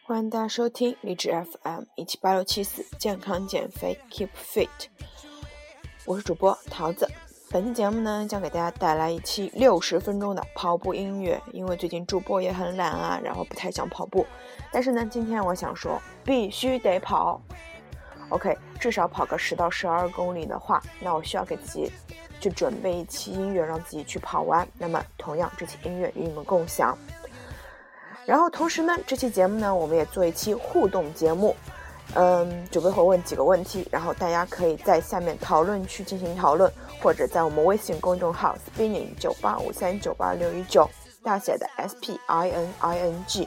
欢迎大家收听励志 FM17867健康减肥 Keep Fit， 我是主播桃子。本期节目呢，将给大家带来一期60分钟的跑步音乐。因为最近主播也很懒啊，然后不太想跑步，但是呢，今天我想说必须得跑。OK， 至少跑个10到12公里的话，那我需要给自己去准备一期音乐，让自己去跑完。那么同样，这期音乐与你们共享。然后同时呢，这期节目呢，我们也做一期互动节目。主播会问几个问题，然后大家可以在下面讨论区进行讨论，或者在我们微信公众号 spinning985398619 大写的 SPINNING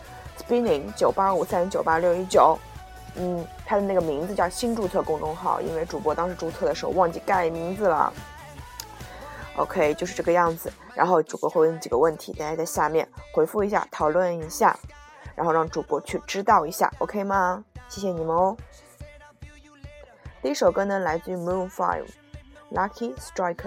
spinning985398619。他的那个名字叫新注册公众号，因为主播当时注册的时候忘记改名字了。OK， 就是这个样子。然后主播会问几个问题，大家在下面回复一下，讨论一下，然后让主播去知道一下 OK 吗？谢谢你们哦。第一首歌呢，来自于 Maroon 5 Lucky Striker。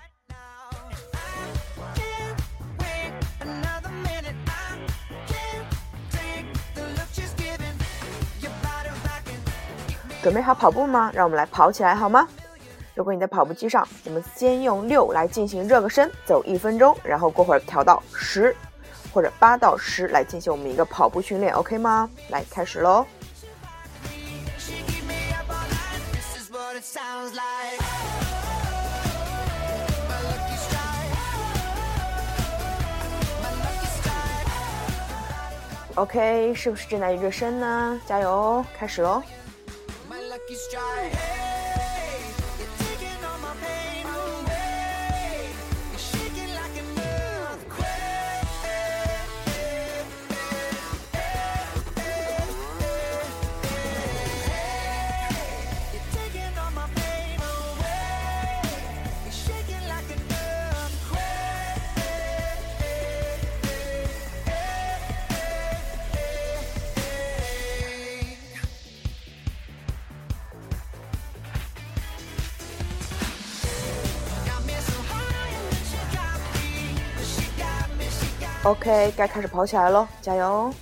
准备好跑步吗？让我们来跑起来好吗？如果你在跑步机上，我们先用6来进行热个身，走1分钟，然后过会儿调到10或者8到10来进行我们一个跑步训练 OK 吗？来开始咯。OK， 是不是正在热身呢？加油哦，开始咯。OK， 该开始跑起来咯，加油！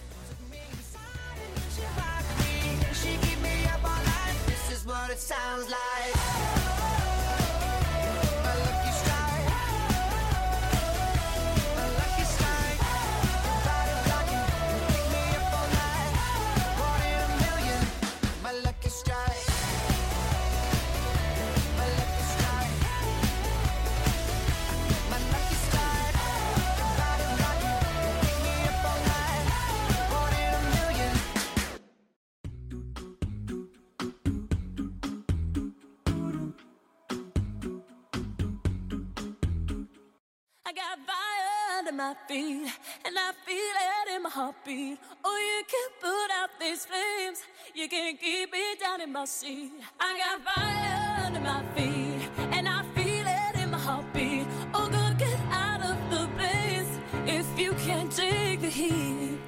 I got fire under my feet, and I feel it in my heartbeat. Oh, you can put out these flames, you can keep me down in my seat. I got fire under my feet, and I feel it in my heartbeat. Oh, girl, get out of the place if you can't take the heat.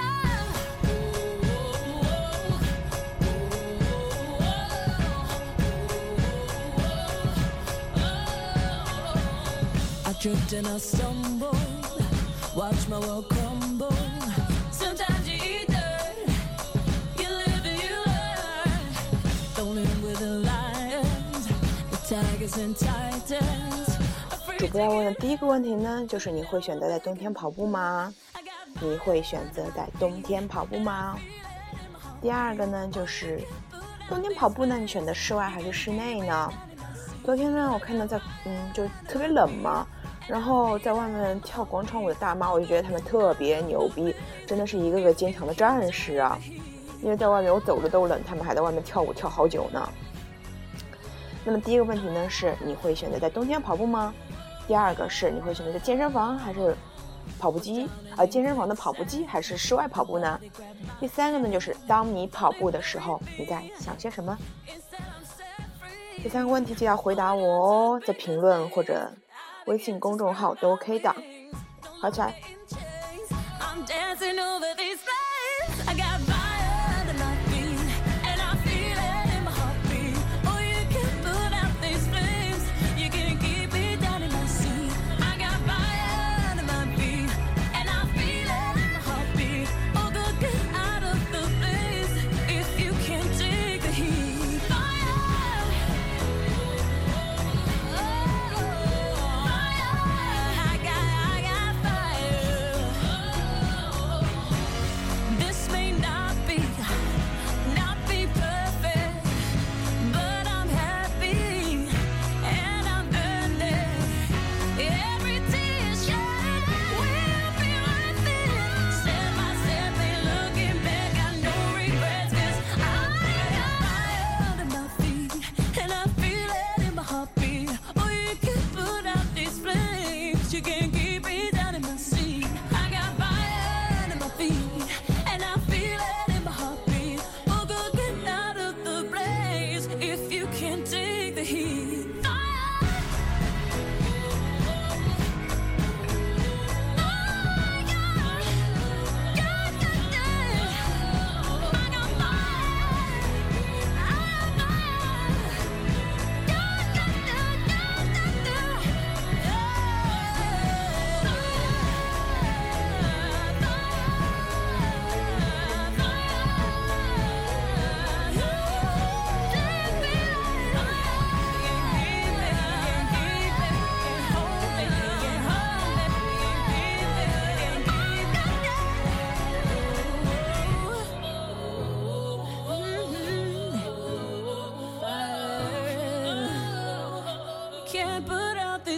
Tripped and I stumbled, watch my world crumble. Sometimes you eat dirt, you live and you learn. Don't live with the lions, the tigers and titans. 主播要问的第一个问题呢，就是你会选择在冬天跑步吗？你会选择在冬天跑步吗？第二个呢，就是冬天跑步呢，你选择室外还是室内呢？昨天呢，我看到就特别冷嘛。然后在外面跳广场舞的大妈，我就觉得他们特别牛逼，真的是一个个坚强的战士啊！因为在外面我走着都冷，他们还在外面跳舞跳好久呢。那么第一个问题呢是你会选择在冬天跑步吗？第二个是你会选择在健身房还是跑步机健身房的跑步机还是室外跑步呢？第三个呢就是当你跑步的时候你在想些什么？这3个问题就要回答我哦，在评论或者微信公众号都 OK 的，跑起来！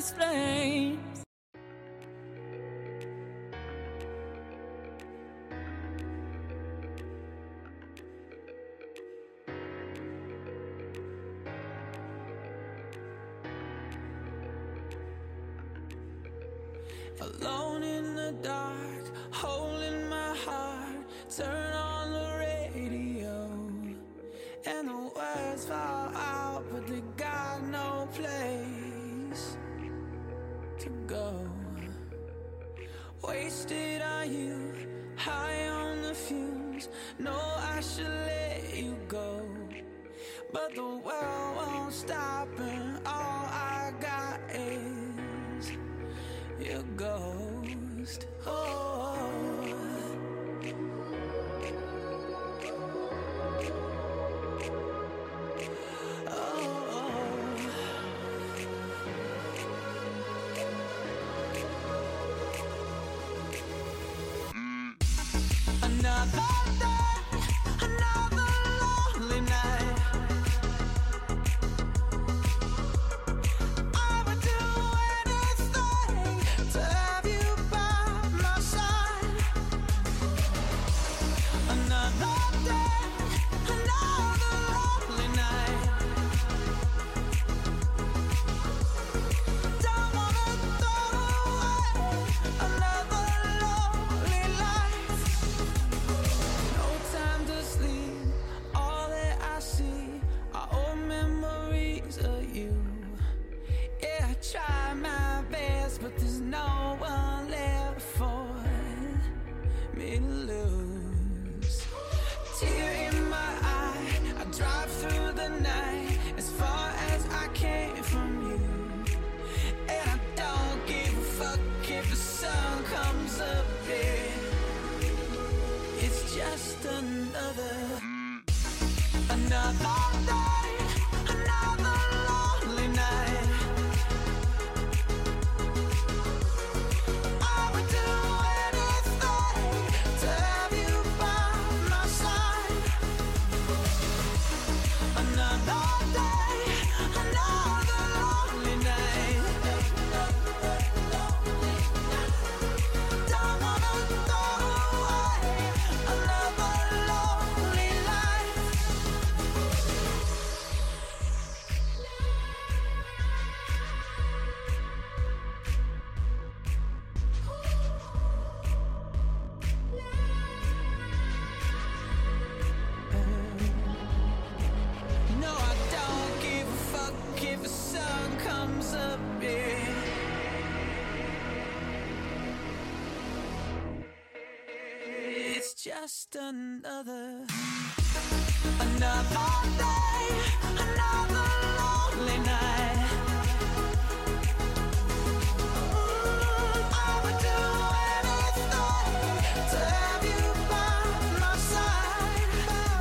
these flames. Alone in the dark, holding my heart, turn on the radio, and the words fall out, but they got no place to go. Wasted on you, high on the fumes, know I should let you go, but the world won't stop and all I got is your ghost. Oh. Another day, another lonely night. I would do anything to have you by my side. Another day, another lonely night. Don't wanna throw away another lonely life. No time to sleep, all that I see are old memories of you. Yeah, I try my best, but there's no one left for me to lose. Tear in my eye, I drive through the night as far as I can from you. And I don't give a fuck if the sun comes up here. It's just another day, another lonely night. I would do anything to have you by my side. Another day, another lonely night. Don't wanna throw away another lonely life. No, I don't give a fuck if the sun comes up, yeah. It's just another day, another lonely night. I would do anything to have you by my side.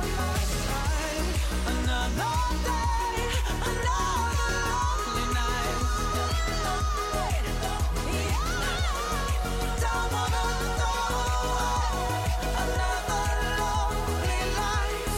Another day, another lonely night. Don't wanna throw away another lonely life.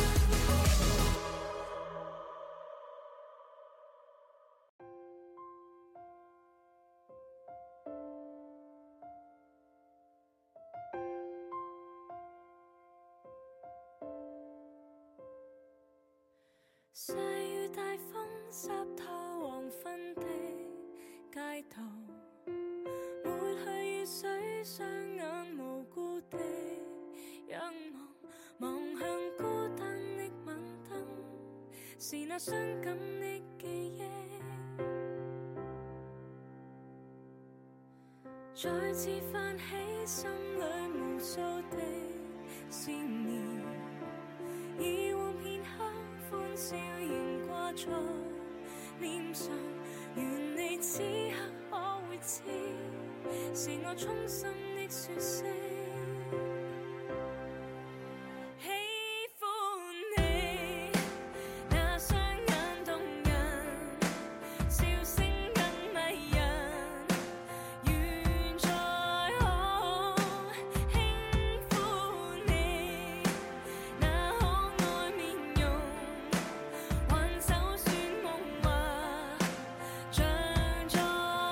細雨大風濕透黃昏的街道，抹去雨水，雙眼無辜的仰望，望向孤單的晚燈，是那傷感的記憶，再次泛起心裏無數的思念，以往片刻歡笑仍掛在臉上，願你此刻可會知，是我衷心的說聲。像在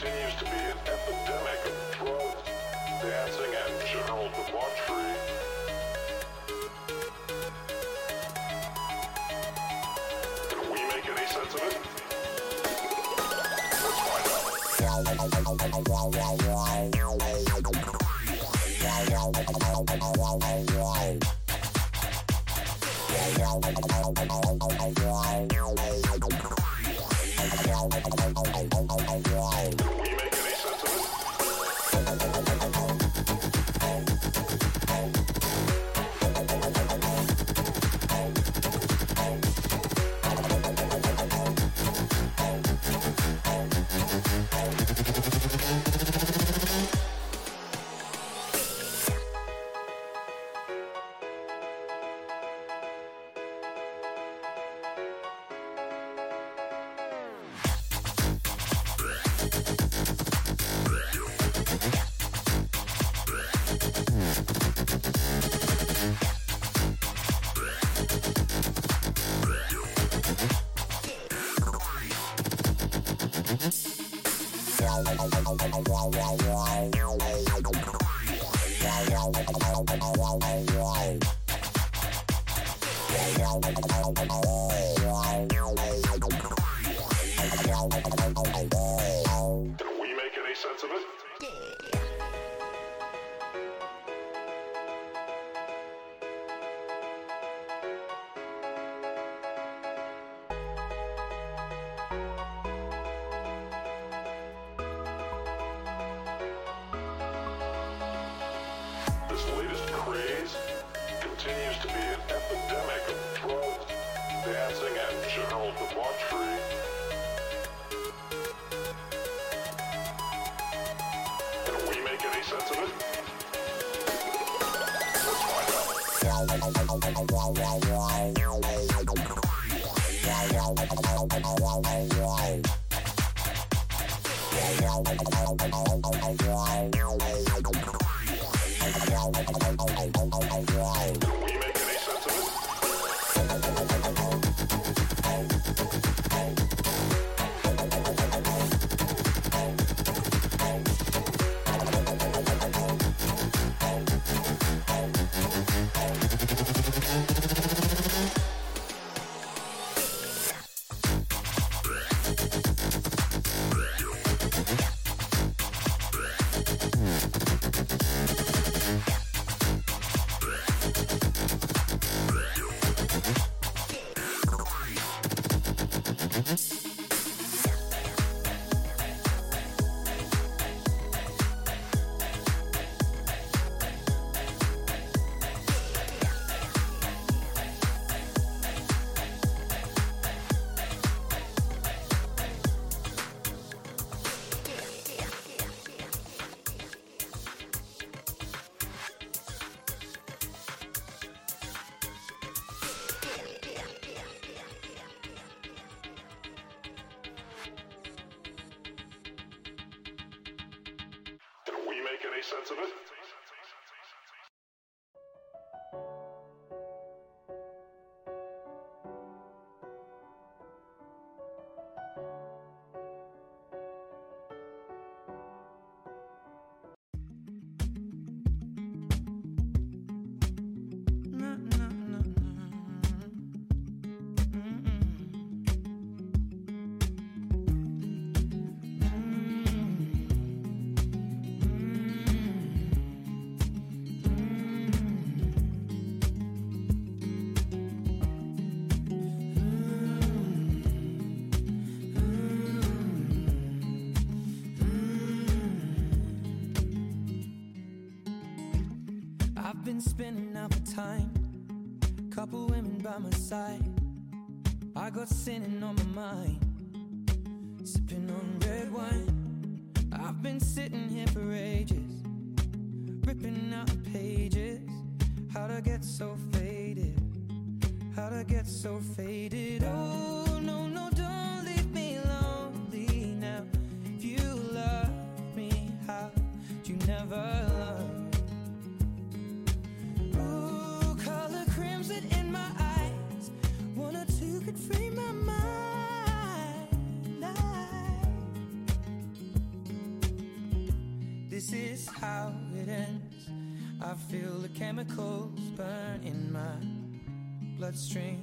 continues to be an epidemic of drugs, dancing, and general debauchery. Can we make any sense of it? Let's find out. Can we make any sense of it? This latest craze continues to be an epidemic of drugs, dancing, and general debauchery. Can we make any sense of it? Let's find out. Can we make any sense of it? Can we make any sense of it? I've been spending out for time, couple women by my side. I got sinning on my mind, sipping on red wine. I've been sitting here for ages, ripping out the pages. How'd I get so faded? How'd I get so faded? Oh, no, no, don't leave me lonely now. If you love me, how'd you never love? Ooh, color crimson in my eyes. One or two could free my mind. how it ends. I feel the chemicals burn in my bloodstream,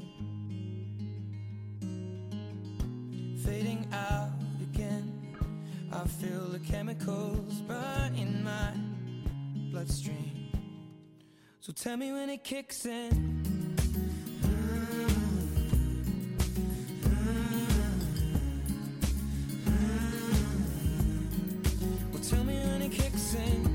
fading out again. I feel the chemicals burn in my bloodstream. So tell me when it kicks in. Well, tell me when it kicks in.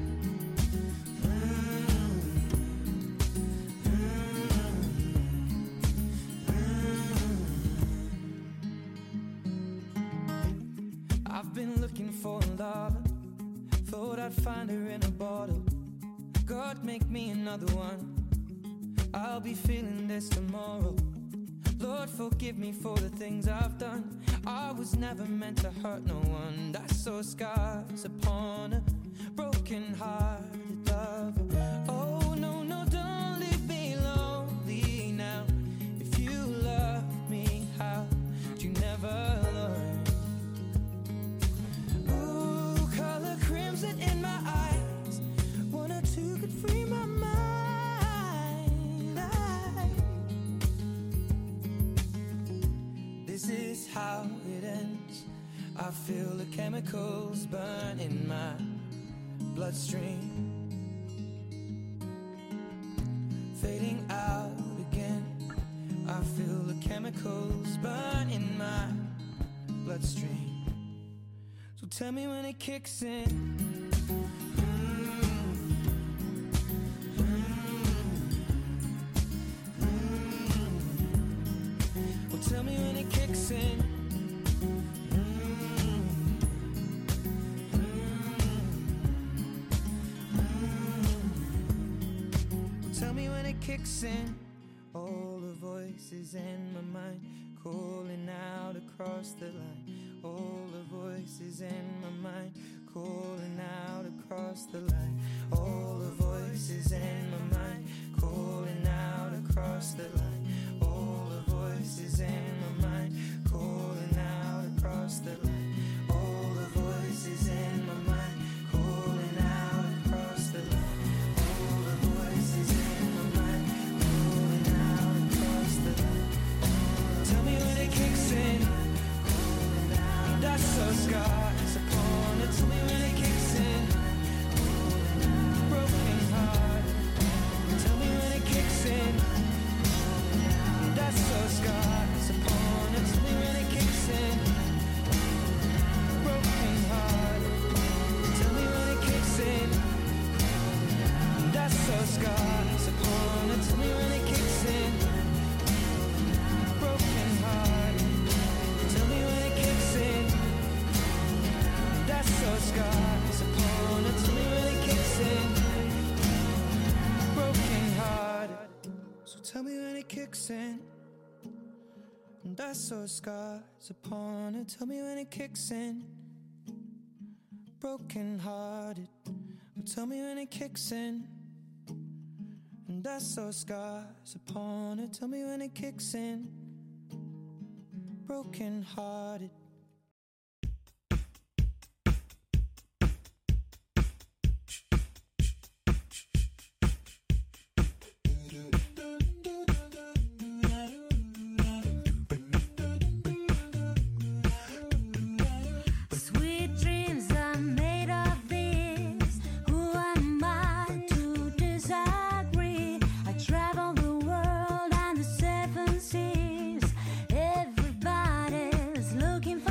I've been looking for love, thought I'd find her in a bottle. God, make me another one. I'll be feeling this tomorrow. Lord, forgive me for the things I've done. I was never meant to hurt no one. I saw scars upon a broken-hearted lover. Oh, no, no, don't leave me lonely now. If you love me, how would you never learn? Ooh, color crimson in my eyes. One or two could free my mind. This is how it ends. I feel the chemicals burn in my bloodstream, fading out again. I feel the chemicals burn in my bloodstream. So tell me when it kicks in. Well, tell me when it kicks in. Well, tell me when it kicks in. All the voices in my mind calling out across the line. All the voices in my mind calling out across the line. All the voices in my mind calling out across the line. All the voices in my mind calling out across the line. All the voices in my mind calling out across the line. All the voices in my mind calling out across the line. Tell me when it kicks in. That's so scars upon it. Tell me when it kicks in. Broken heart. Tell me when it kicks in. That's so scars upon it. Tell me when it kicks in. Broken heart. Tell me when it kicks in. That's so scars upon it. Tell me when it kicks in. Broken heart. Tell me when it kicks in. That's so scars upon it. Tell me when it kicks in. Broken heart. So tell me when it kicks in. That's so scars upon it. Tell me when it kicks in. Broken hearted. Tell me when it kicks in. And that's so scars upon it. Tell me when it kicks in. Broken hearted. Sweet dreams are made of this. Who am I to disagree? I travel the world and the seven seas. Everybody's looking for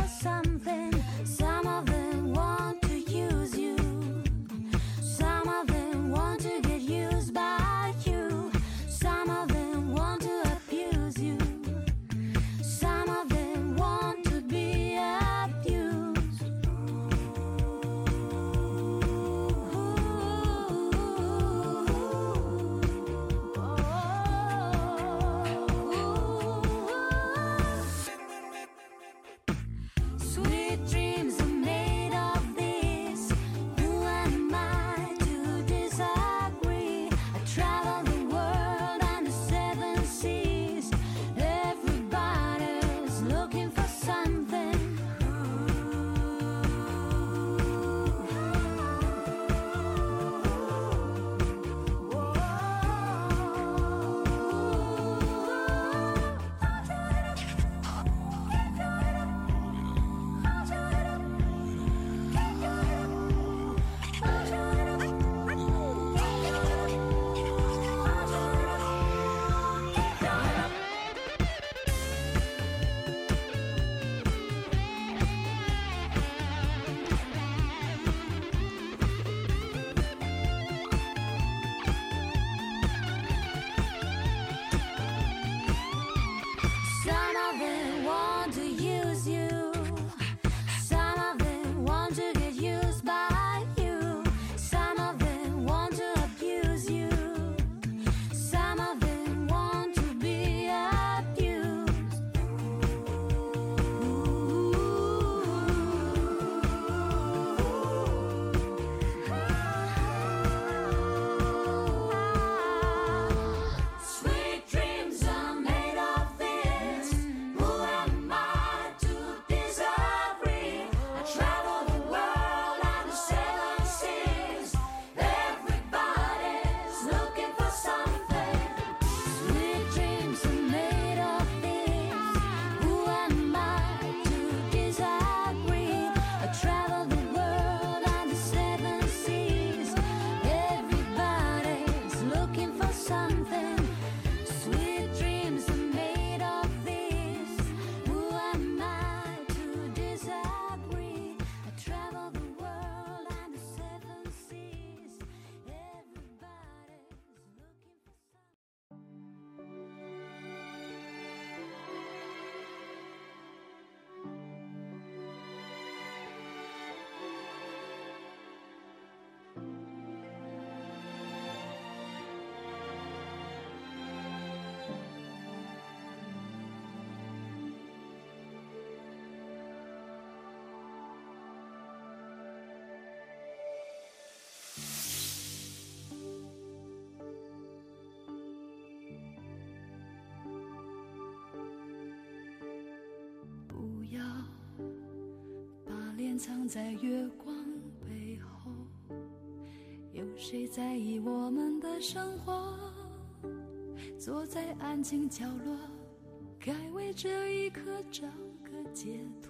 隐藏在月光背后，有谁在意我们的生活？坐在安静角落，该为这一刻找个解脱。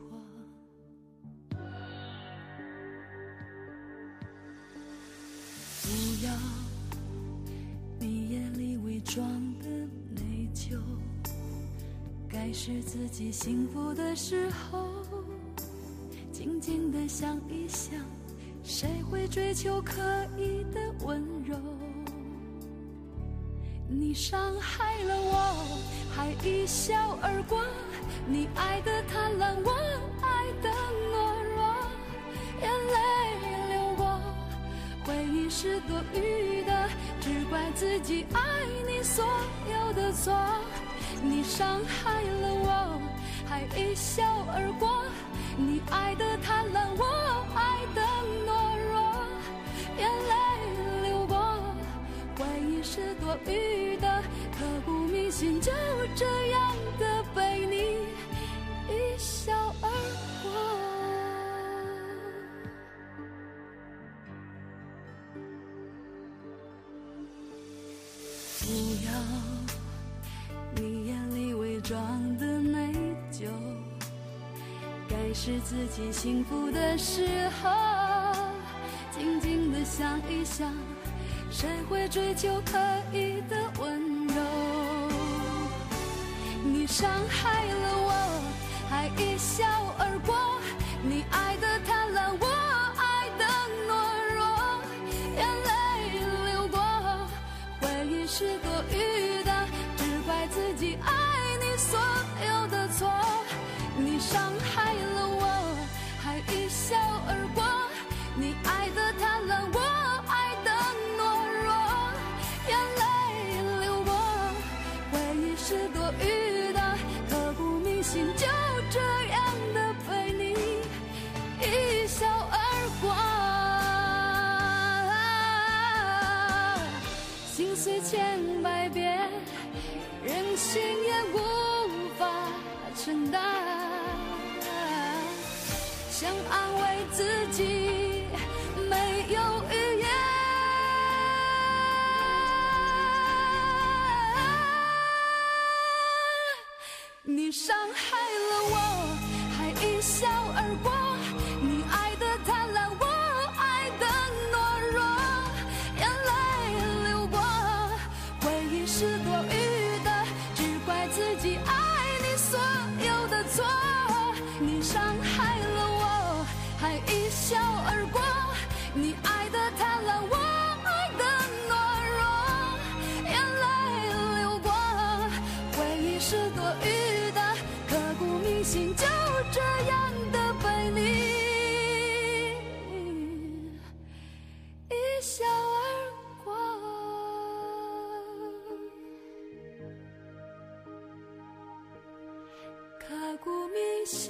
不要你眼里伪装的内疚，该是自己幸福的时候，静静地想一想，谁会追求可以的温柔？你伤害了我，还一笑而过，你爱的贪婪，我爱的懦弱，眼泪流过，回忆是多余的，只怪自己爱你所有的错。你伤害了我，还一笑而过，你爱的贪婪，我爱的懦弱，眼泪流过，回忆是多余的，刻骨铭心，就这样的被你一笑而过。不要你眼里伪装的内疚，该是自己幸福的时候，静静地想一想，谁会追求可以的温柔？你伤害了我，还一笑而过，你爱的贪婪，我爱的懦弱，眼泪流过，回忆是多余的，只怪自己爱你所有的错。你伤害了我，还一笑而过，你爱的贪婪，我爱的懦弱，眼泪流过，回忆是多余的，刻骨铭心，就这样的被你一笑而过。心碎千百遍，任性也无法承担，想安慰自己没有语言。你伤害了我，还一笑而过，你爱的贪婪，我爱的懦弱，眼泪流过，回忆是多余的，只怪自己爱你所有的错。你伤害了我，还一笑而过，你爱的贪婪，我爱的懦弱，眼泪流过，回忆是多余的，刻骨铭心，就这样的被你一笑而过。刻骨铭心，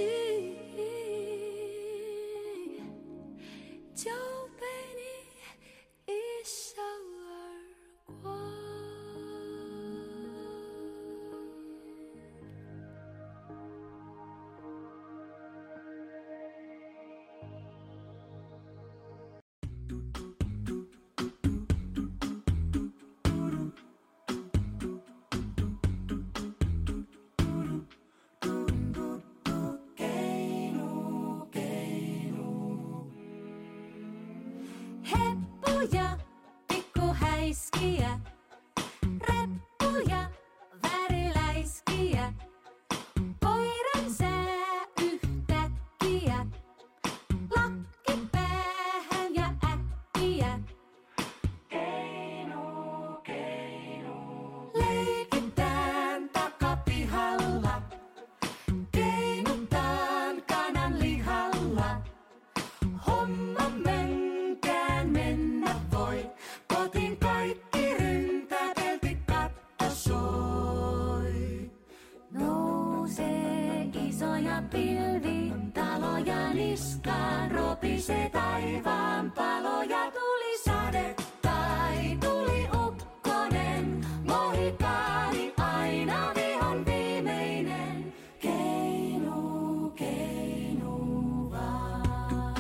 就被你一笑而过。Heppuja, pikkuhäiskiä, reppuja, väriläiskiä, koiran sää yhtäkkiä, lakki päähän ja äkkiä. Keinu, keinu, leikitään takapihalla, keinutaan kanan lihalla, homma menkään mennä voi, kotiin kaikki ryntäpelti katto soi. Nousee isoja pilvi, taloja niskaan, ropisee taivaan paloja, tuli sade tai tuli ukkonen, mohikaani aina vihon viimeinen, keinu, keinu vaan.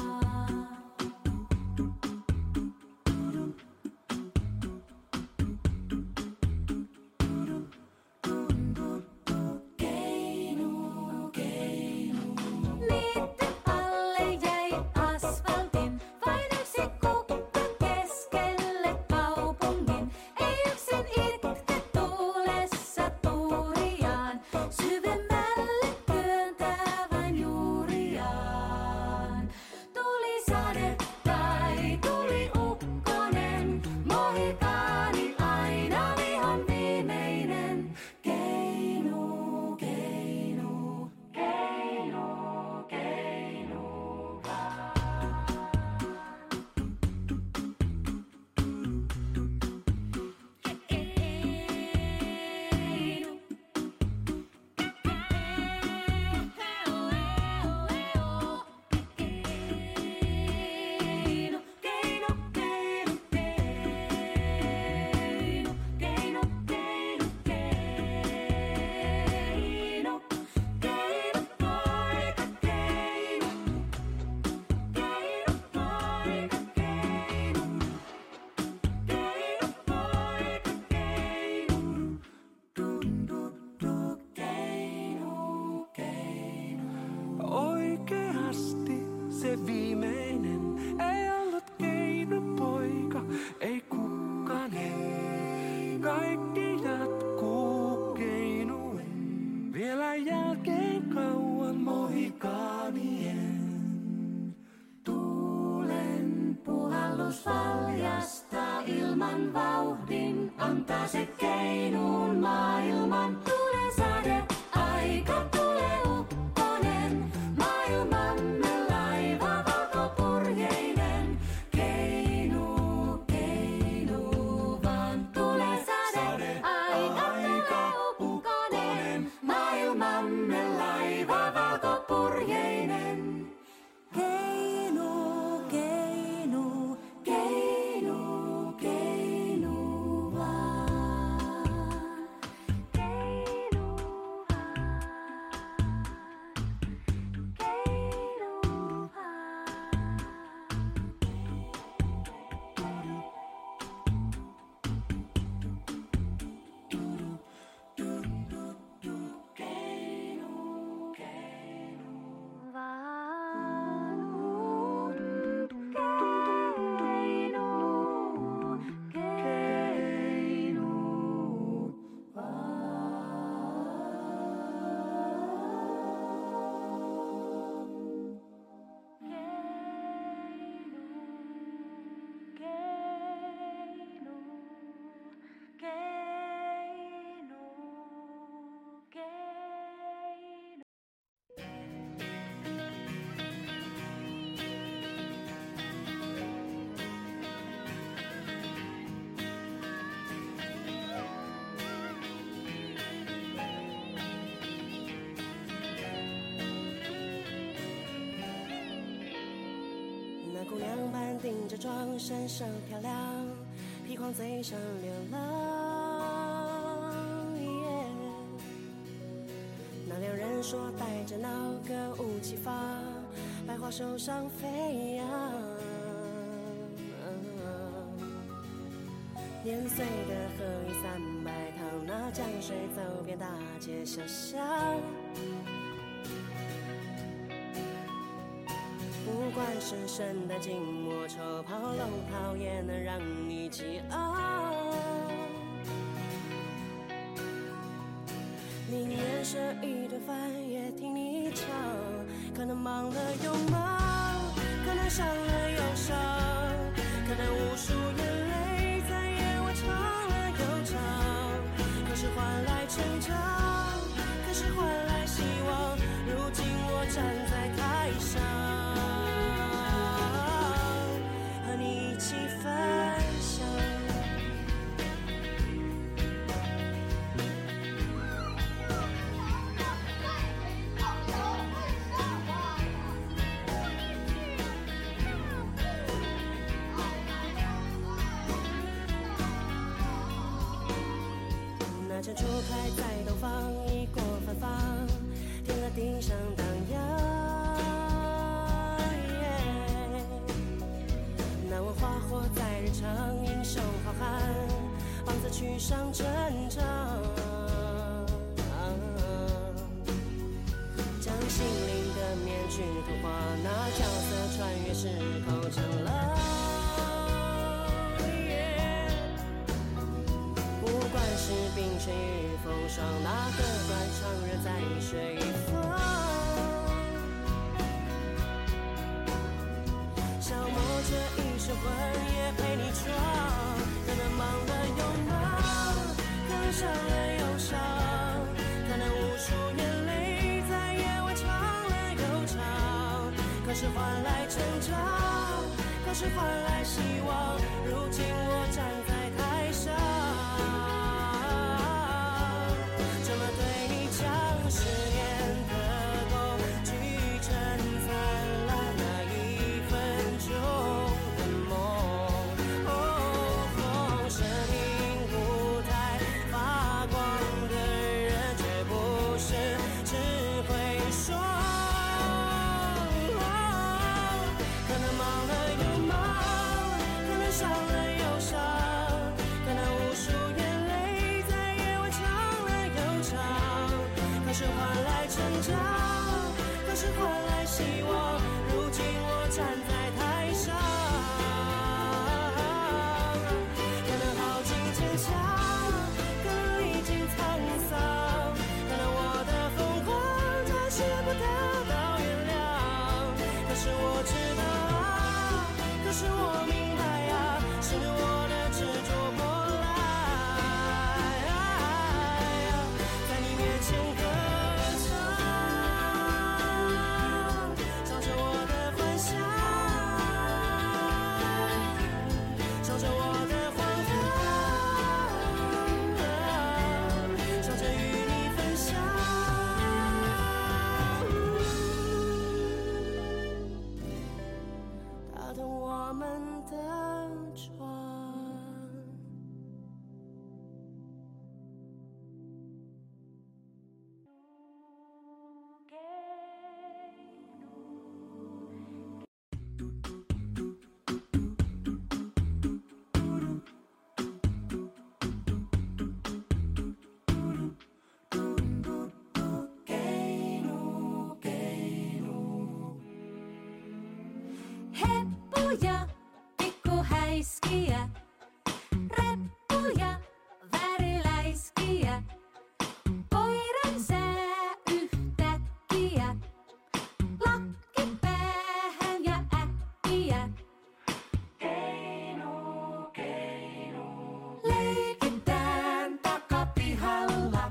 姑娘般顶着妆，闪闪漂亮，披黄嘴上流浪。那两人说带着那歌舞齐发，百花手上飞扬。年岁的河一300趟，那江水走遍大街小巷。不管是圣诞、静默、丑袍、龙袍，也能让你激昂。宁愿舍一顿饭，也听你唱。可能忙了又忙，可能伤了又伤，可能无数眼泪在夜晚唱了又唱。可是换来成长，可是换来希望。如今我站在台上，和你一起分享。那阵初开在东方，一过芬芳，天和地上荡漾。难问花火在日常，英雄好汉，棒子去上阵场。将心灵的面具脱化，那角色穿越时空成了。不管是冰雪与风霜，那个断肠人在水方。消磨这一生魂，也陪你闯。可能忙了又忙，可能伤了又伤，可能无数眼泪在夜晚唱了又唱。可是换来成长，可是换来希望。如今我站在台上，这么对你讲誓言的功，聚成灿烂那一分钟的梦。生命舞台发光的人，绝不是只会说。可能忙了又忙，可能伤了又伤，可能无数眼泪在夜晚唱了又唱。可是换来成长，可是换来希望。如今我站在台上，可能耗尽坚强，可能历经沧桑，可能我的疯狂暂时不得到原谅。可是我知道啊，可是我明白啊，是我的执着过来，在你面前歌唱，唱着我的幻想，唱着我的荒唐，唱着与你分享。打动我们的窗。 Heppuja, pikkuhäiskiä, reppuja, väriläiskiä. Koiran sää yhtäkkiä, lakki päähän ja äkkiä. Leikitään takapihalla,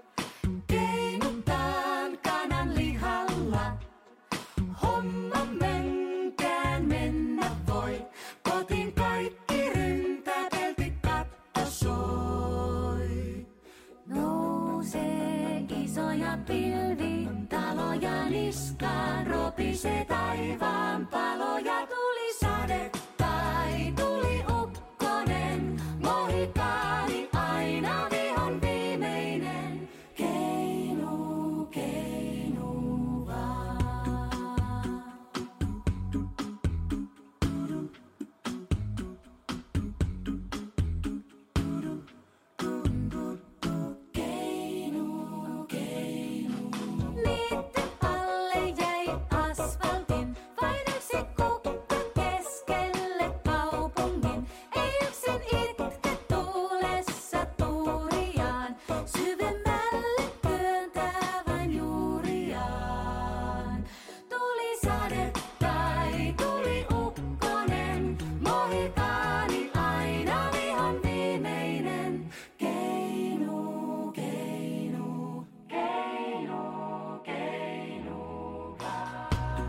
keinutaan kanan lihalla. Homma menkään mennä voi, kotiin kaikki ryntäpelti katto soi. Nousee isoja pilvi, taloja niskaan, ropisee taivaan paloja tulisee. sade tai tuli ukkonen, mohikaani aina vihon viimeinen. Keinu, keinu vaan. Keinu, keinu. Niitten alle jäi asfaltin, vain yksi kukka keskelle kaupungin. Ei yksin itke tuulessa tuuriaan, syvemmälle työntää vain juuriaan. Tuli sade tai tuli ukkonen, mohikaani aina vihon viimeinen. Keinu, keinu, keinu, keinu vaan.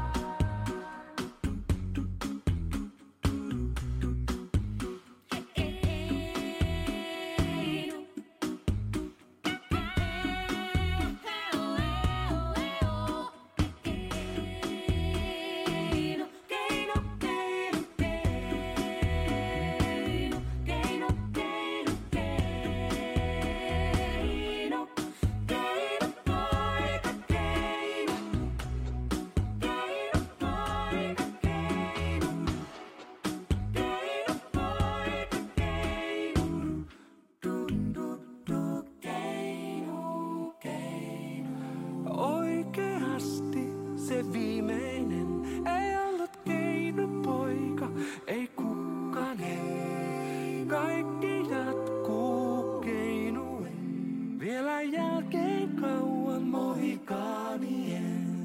Oikeasti se viimeinen ei ollut keinopoika, ei kukkanen. Kaikki jatkuu keinuen, vielä jälkeen kauan mohikaanien.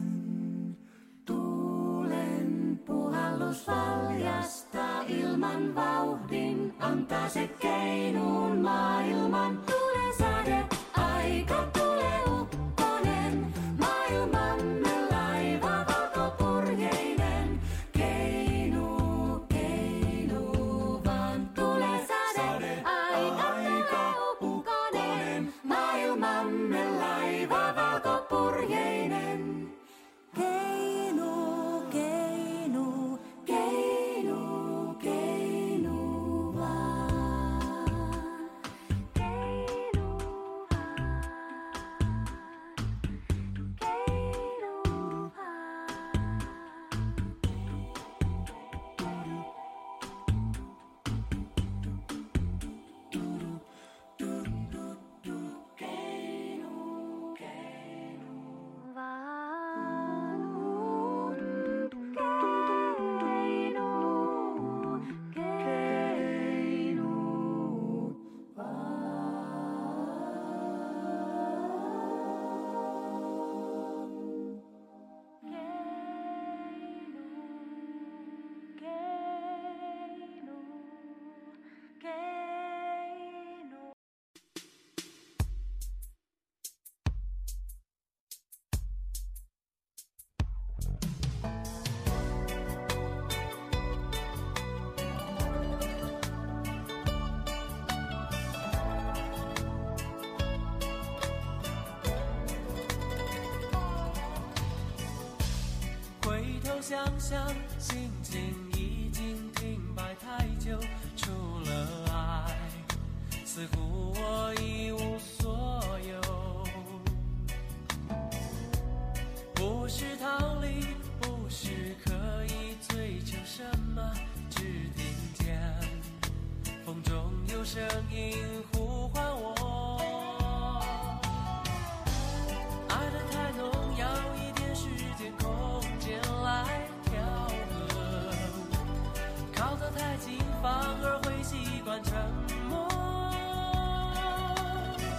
Tuulen puhallus valjastaa ilman vauhdin, antaa se keinuun maailman. Tulee sade, aika tulee ukkonen, maailmamme laiva valkopurjeinen. Keinu, keinu vaan. Tulee sade, aika tulee ukkonen, maailmamme laiva valkopurjeinen. Keinu, keinu, keinu, keinu vaan. Keinu vaan. Keinu 回头想想，心情已经停摆太久，除了爱，似乎我一无所有。不是逃离，不是刻意追求什么，只听见风中有声音呼唤我。爱得太浓，要一点时间空间来调和，靠得太近反而会习惯沉默。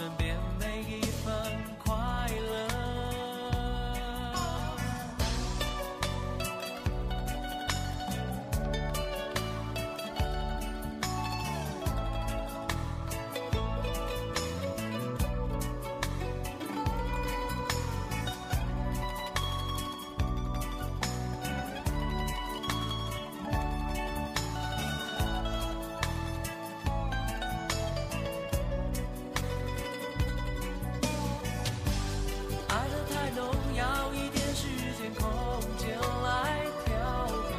身边每一份快乐。爱得太浓，要一点时间空间来调和。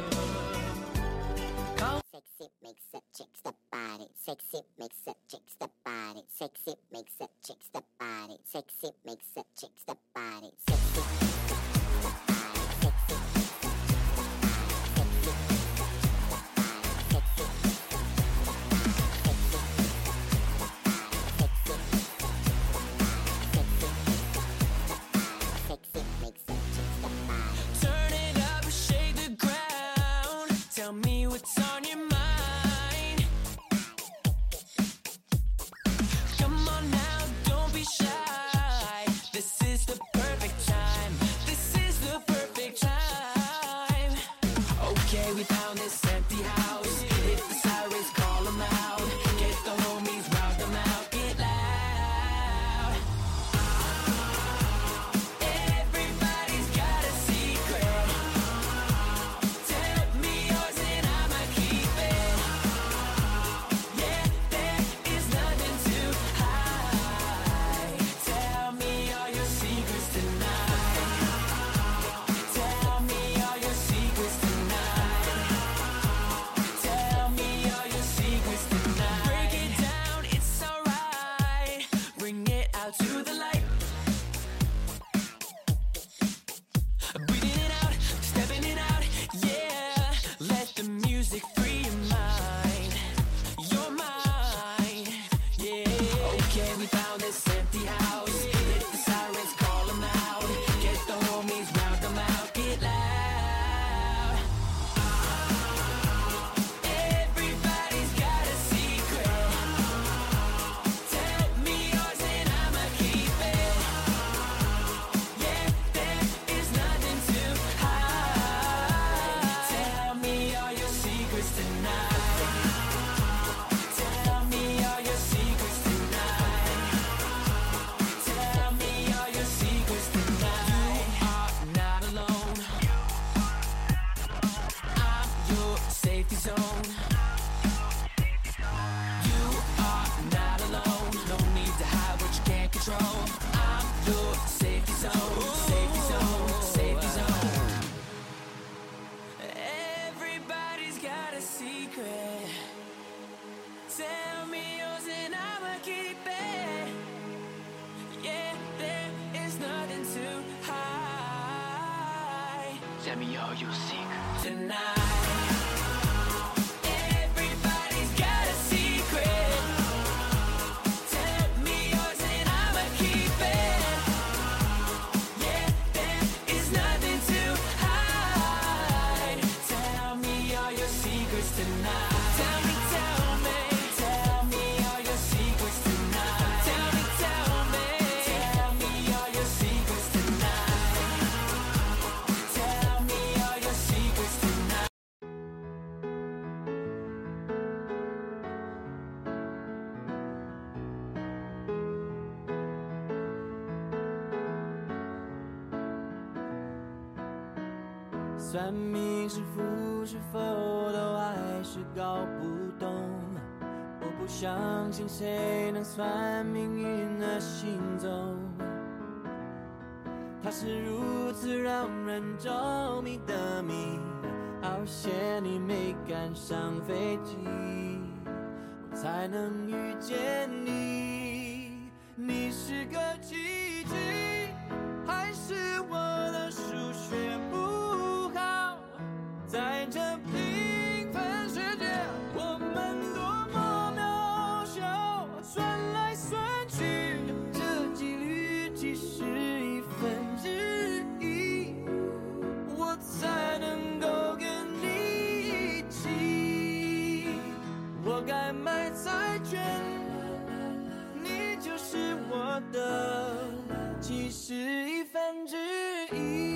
Sexy makes a chick's the body. Sexy makes a chick's the body. Sexy makes a chick's the body. Sexy makes a chick's the body. Sexy. Turn it up, shake the ground. Tell me what's on your mind. Come on now, don't be shy. This is the perfect time. This is the perfect time. Okay, we found this empty house. Hit the sirens, call them out. Get the homies, round them out. Get loud. Everybody's got a secret. Tell me yours and I'ma keep it. Yeah, there is nothing too high. Tell me all your secrets tonight. Tell me all your secrets tonight. Tell me all your secrets tonight. Break it down, it's alright. Bring it out to the light. Breathing it out, stepping it out, yeah. Let the music free your mind, yeah. Okay, we found this empty house. Hit the sirens, call them out. Get the homies, round them out. Get loud. Everybody's got a secret. Tell me yours and I'ma keep it. Yeah, there is nothing too high. Tell me all your secrets tonight. Tell me all your secrets tonight. Tell me all your secrets tonight. You are not alone. I'm your safety zone. You are not alone. No need to hide what you can't control. I'm your safety zone. Safety zone. Safety zone. Everybody's got a secret. Tell me yours and I'ma keep it. Yeah, there is nothing too high. Tell me all your secrets tonight. Everybody's got a secret. Tell me yours and I'ma keep it. Yeah, there is nothing too high. Tell me all your secrets tonight. Tell me all your secrets tonight. Tell me all your secrets tonight. Tell me all your secrets tonight. 算命师傅是否都还是搞不懂？我不相信谁能算命运的行踪。它是如此让人着迷的谜，好险你没赶上飞机，我才能遇见你。你是个奇迹，还是我的数学不好？在这平凡世界，我们多么渺小，算来算去，这几率其实1/1，我才能够跟你一起。我该买彩券，你就是我我的其实1/1。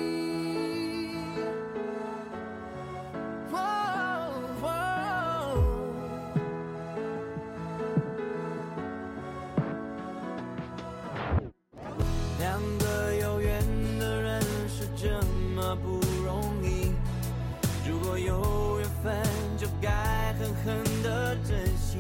两个有缘的人是这么不容易，如果有缘分就该狠狠地珍惜。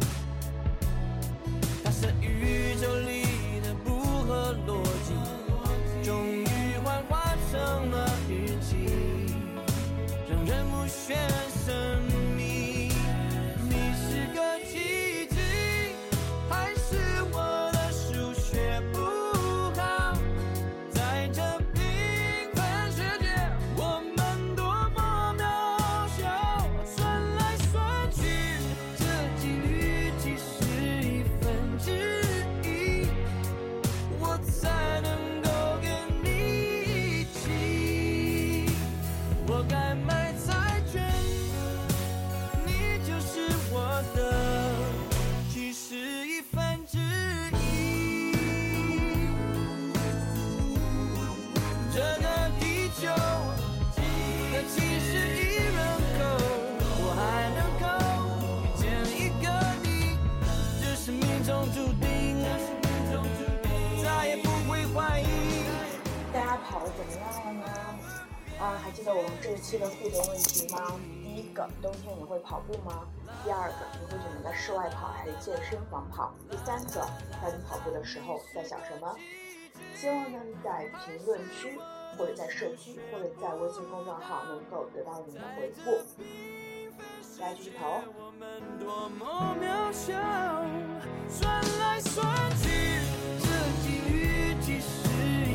它是宇宙里的不合逻辑，终于幻化成了日记，让人目眩神秘。你是个奇迹，还是我的数学不好？在这平凡世界，我们多么渺小，算来算去，这几率其实1/1，我才能够跟你一起。我该买彩券，你就是我的其实1/1。这个地球的71人口，我还能够遇见一个你，这是命中注定，再也不会怀疑。 大家跑得怎么样了呢？还记得我们这一期的互动问题吗？第一个，冬天你会跑步吗？第二个，你会选择在室外跑还是健身房跑？第三个，在你跑步的时候在想什么？希望呢在评论区或者在社区或者在微信公众号能够得到你的回复。大家继续跑哦！ 我们多么渺小，算来算去，这几率其实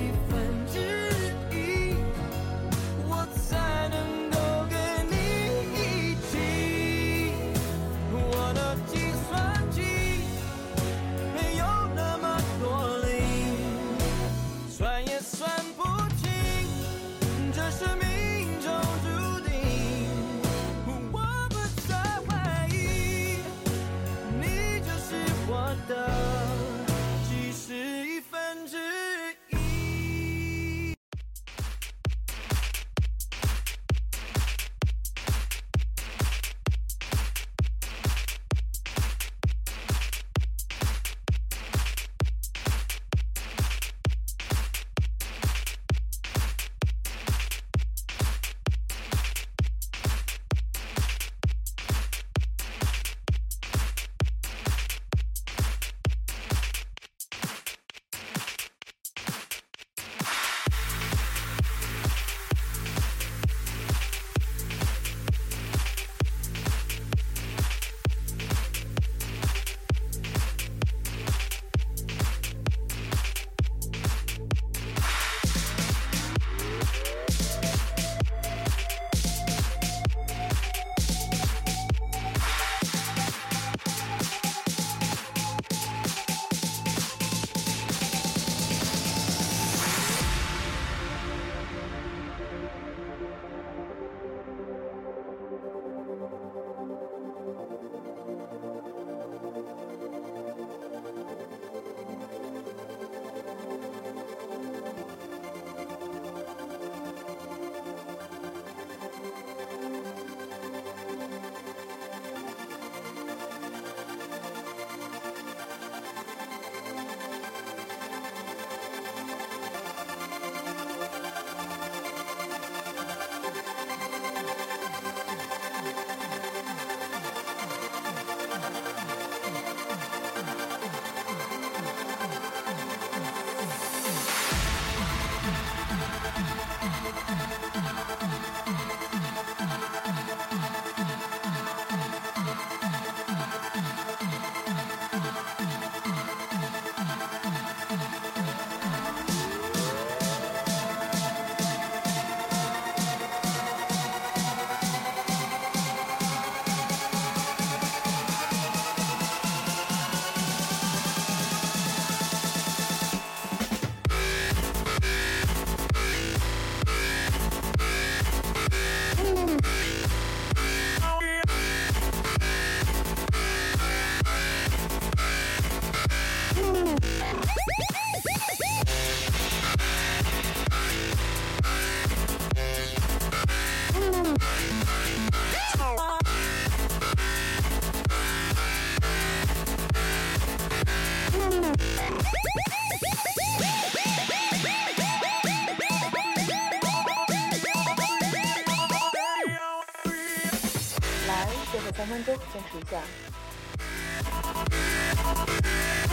1/1，我才能够跟你一起。我的计算机没有那么多零，算也算不清，这是命中注定。我不再怀疑，你就是我的其实1/1。 来，最后3分钟坚持一下。